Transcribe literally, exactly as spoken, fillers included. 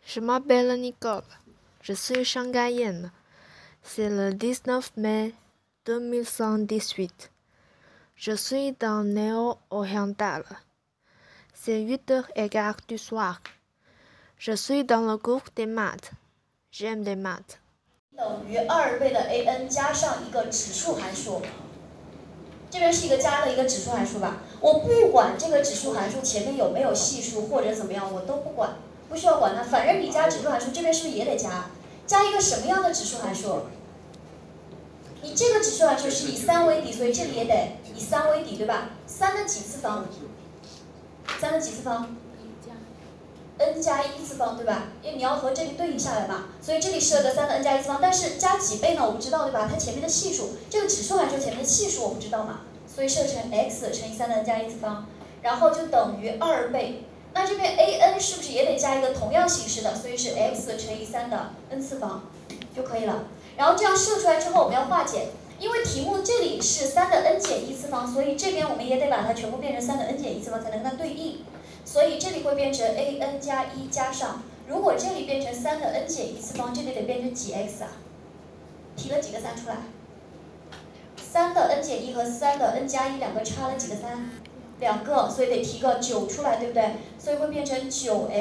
Je m'appelle Nicole. Je suis shanghaïenne. C'est le dix-neuf mai deux mille cent dix-huit. Je suis dans Néo-Oriental. C'est huit heures quinze du soir. Je suis dans le groupe des maths. J'aime les maths. 等于二倍的 an 加上一个指数函数，这边是一个加的一个指数函数吧？我不管这个指数函数前面有没有系数或者怎么样，我都不管，不需要管它。反正你加指数函数，这边是不是也得加？加一个什么样的指数函数？你这个指数函数是以三为底，所以这里也得以三为底，对吧？三的几次方？三的几次方？ n 加一次方，对吧？因为你要和这里对应下来嘛，所以这里设个三的 n 加一次方，但是加几倍呢？我不知道，对吧？它前面的系数，这个指数函数前面的系数我不知道嘛，所以设成 x 乘以三的 n 加一次方，然后就等于二倍。那这边 an 是不是也得加一个同样形式的？所以是 x 乘以三的 n 次方就可以了。然后这样设出来之后，我们要化简，因为题目这里是三的 n 减一次方，所以这边我们也得把它全部变成三的 n 减一次方才能跟它对应。 所以这里会变成 an 加一加上，如果这里变成三的 n 减一次方，这里得变成几 x 啊？提了几个三出来？三的 n 减一和三的 n 加一两个差了几个三？两个，所以得提个九出来，对不对？所以会变成九 x。